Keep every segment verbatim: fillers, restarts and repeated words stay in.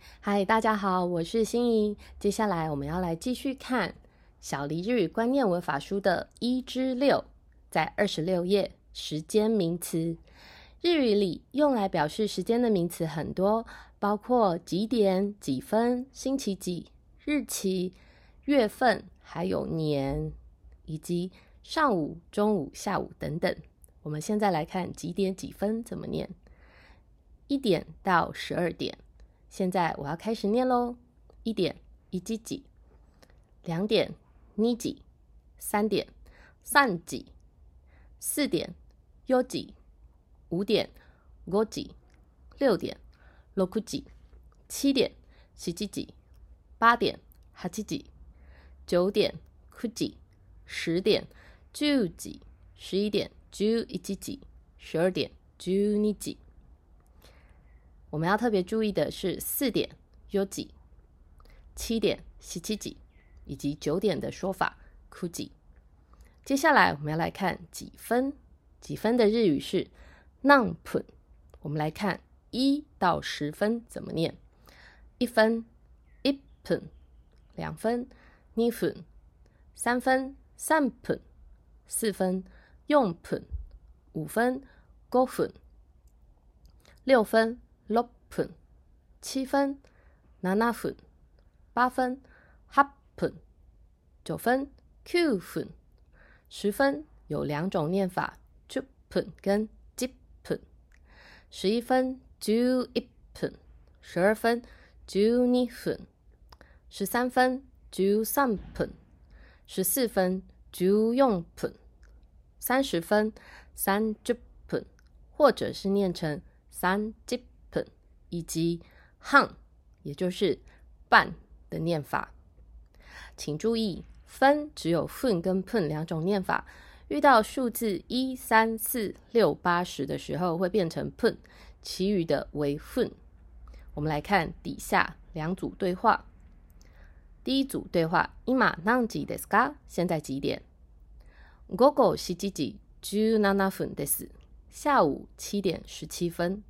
嗨，大家好，我是心怡。接下来我们要来继续看小黎日语观念文法书的一之六，在二十六页，时间名词。日语里用来表示时间的名词很多，包括几点、几分、星期几、日期、月份，还有年，以及上午、中午、下午等等。我们现在来看几点几分怎么念。一点到十二点。现在我要开始念咯。一点一几几，两点二几，三点三几，四点四几，五点五几，六点六几，七点七几，八点八几，九点九几，十点十几，十一点十一几，十二点十二几。我们要特别注意的是四点有几，七点七七几，以及九点的说法九几。接下来我们要来看几分，几分的日语是何分。我们来看一到十分怎么念。一分一分，两分二分，三分三分，四分四分，五分五分，六分六分，七分七分，八分八分，九分九分，十分有两种念法，十分跟十分，十一分十一分，十二分十二分，十三分十三分，十四分十四分，三十分三十分，或者是念成三十分，以及半，也就是半的念法。请注意，分只有分跟分两种念法，遇到数字一、三、四、六、八、十的时候会变成分，其余的为分。我们来看底下两组对话。第一组对话，今何時ですか？现在几点？午後しちじじゅうななふんです。下午七点十七分。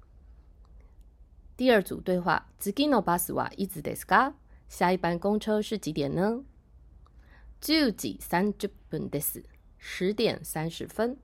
第二组对话，次のバスはいつですか？下一班公车是几点呢？じゅうじさんじゅっぷんです。十点三十分。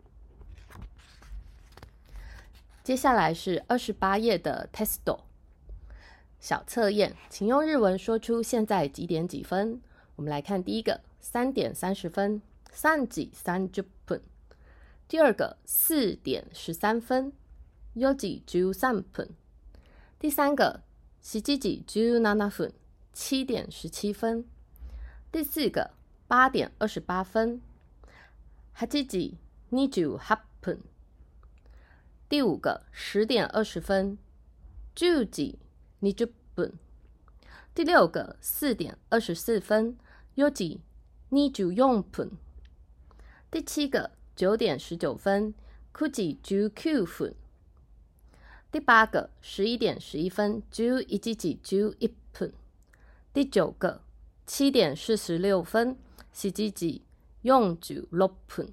接下来是二十八页的 testo 小测验，请用日文说出现在几点几分。我们来看第一个，三点三十分，三時三十分。第二个，四点十三分，四時十三分。第三个，七時十七分，七点十七分。第四个，八点二十八分，八時二十八分。第五个，十点二十分，十時二十分。第六个，四点二十四分，四時二十四分。第七个，九点十九分，九時十九分。第八个，十一点十一分，十一時十一分。第九个，七点四十六分，七時四十六分。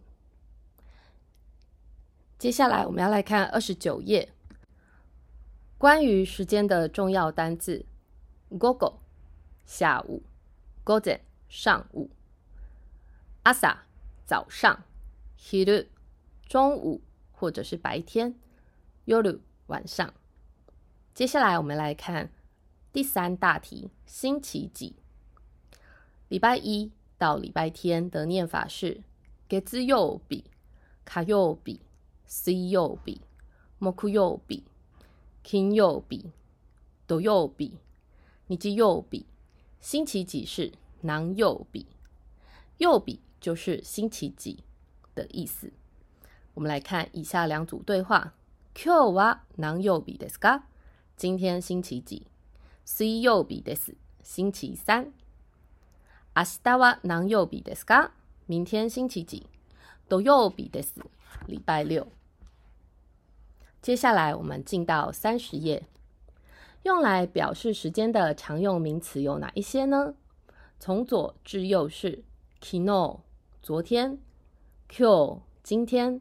接下来我们要来看二十九页，关于时间的重要单字。午後下午，午前上午，朝早上，昼中午或者是白天，夜晚上。接下来我们来看第三大题，星期几。礼拜一到礼拜天的念法是月曜日、火曜日、水曜日、木曜日、金曜日、土曜日、日曜日。星期几是何曜日，曜日就是星期几的意思。我们来看以下两组对话。今日は何曜日ですか？今天星期几？水曜日です。星期三。明日は何曜日ですか？明天星期几？土曜日です。礼拜六。接下来我们进到三十页，用来表示时间的常用名词有哪一些呢？从左至右是昨日昨天、今日今天、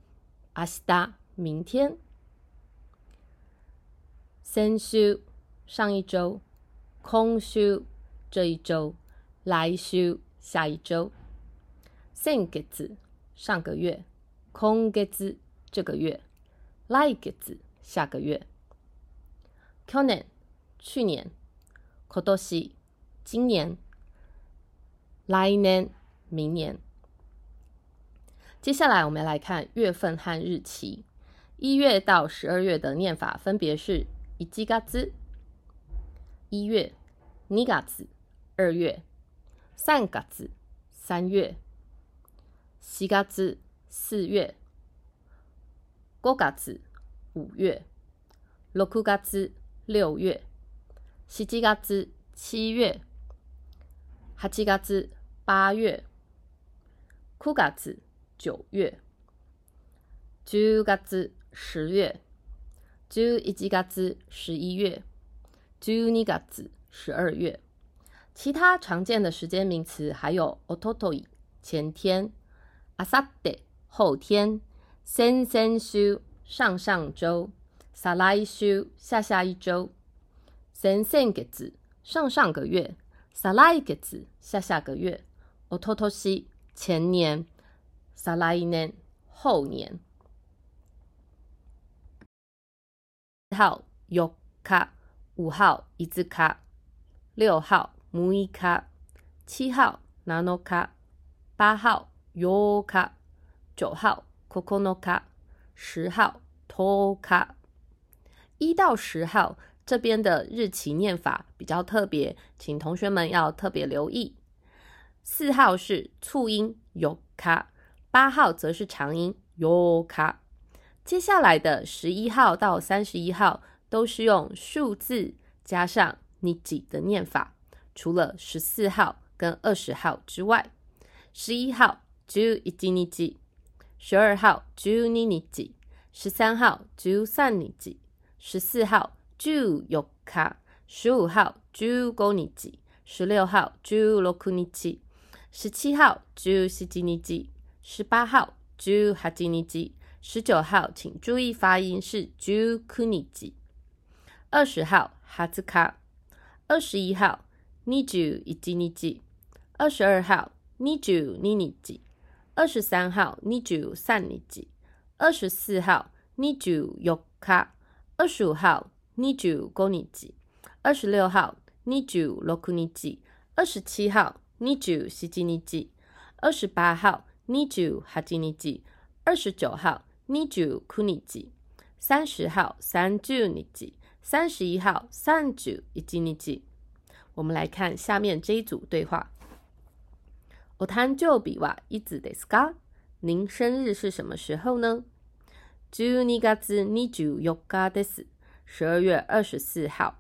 明日明天、先週上一周，今週这一周，来週下一周。先月上个月，今月这个月，来月下个月。去年去年，今年今年，来年明年。接下来我们来看月份和日期。一月到十二月的念法分别是一月一月、二月二月、三月三月、四月四月、五月五月、六月六月、七月七月、八月八月、九月九月、十月十月、十一月十一月、十二月十二月。其他常见的时间名词还有おととい前天、あさって后天、先々週上上周、再来週下下一周、先々月上上个月、再来月下下个月、おととし前年、再来年后年。号四日、五号五日、六号六日、七号七日、八号八日、九号九日、十号十日。一到十号这边的日期念法比较特别，请同学们要特别留意。四号是促音四日，八号则是长音四日。接下来的十一号到三十一号都是用数字加上日的念法，除了十四号跟二十号之外。十一号十一日、十二号十二日、十三号十三日、十四号十四日、十五号十五日、十六号十六日、十七号十七日、十八号十八日、十九号请注意发音是十九日、二十号二十日、二十一号二十一日、二十二号二十二日、二十三号二十三日、二十四号二十四日、二十五号二十五日、二十六号二十六日、二十七号二十七日、二十八号二十八日、二十九号二十九日、三十号三十日、三十一号三十一日。我们来看下面这一组对话。お誕生日はいつですか？您生日是什么时候呢？じゅうにがつにじゅうよっかです。十二月二十四号。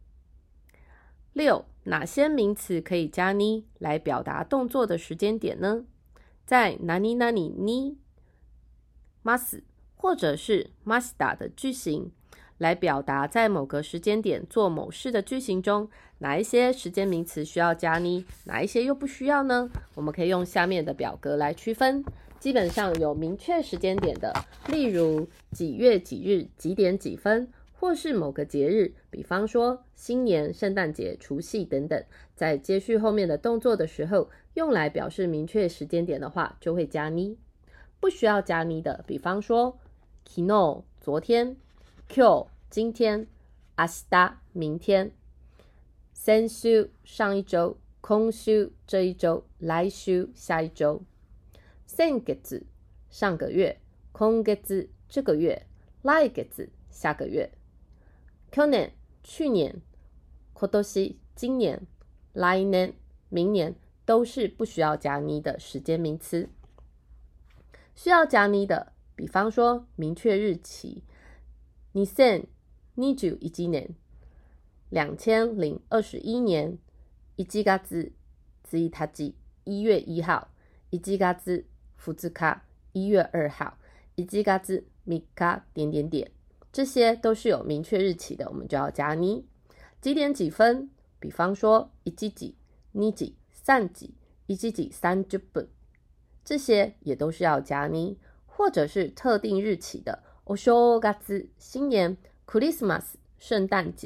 六，哪些名词可以加に来表达动作的时间点呢？在何々にます或者是ました的句型来表达在某个时间点做某事的句型中，哪一些时间名词需要加に，哪一些又不需要呢？我们可以用下面的表格来区分。基本上有明确时间点的，例如几月几日几点几分，或是某个节日，比方说新年、圣诞节、除夕等等，在接续后面的动作的时候，用来表示明确时间点的话，就会加に。不需要加に的，比方说昨日昨天、今日今天、明日明天、先週上一周、今週这一周、来週下一周、先月上个月、今月这个月、来月下个月、去年去年、今年今年、来年明年都是不需要加に的时间名词。需要加に的，比方说明确日期二千二十一年、两千零二十一年、一月一日一月一号、一月二日一月二号、一月三日点点点，这些都是有明确日期的，我们就要加に。几点几分，比方说一時、二時、三時、一時三十分，这些也都是要加に。或者是特定日期的お正月新年、クリスマス圣诞节、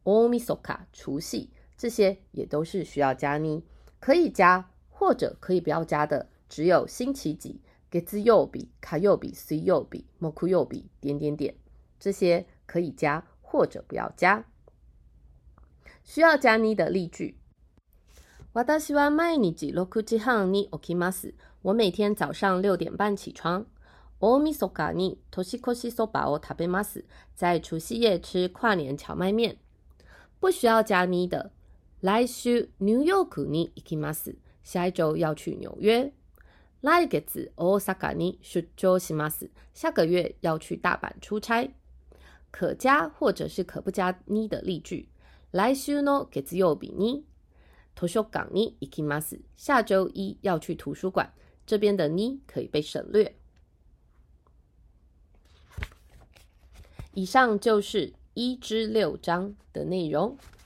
大晦日除夕，这些也都是需要加に。可以加或者可以不要加的只有星期几、月曜日、火曜日、水曜日、木曜日点点点，这些可以加或者不要加。需要加に的例句。私は毎日ろくじはんに起きます。我每天早上六点半起床。大晦日に年越しそばを食べます。在除夕夜吃跨年荞麦面。不需要加に的。来週ニューヨークに行きます。下一周要去纽约。来月大阪に出張します。下个月要去大阪出差。可加或者是可不加に的例句。来週の月曜日に図書館に行きます。下周一要去图书馆。这边的に可以被省略。以上就是一至六章的内容。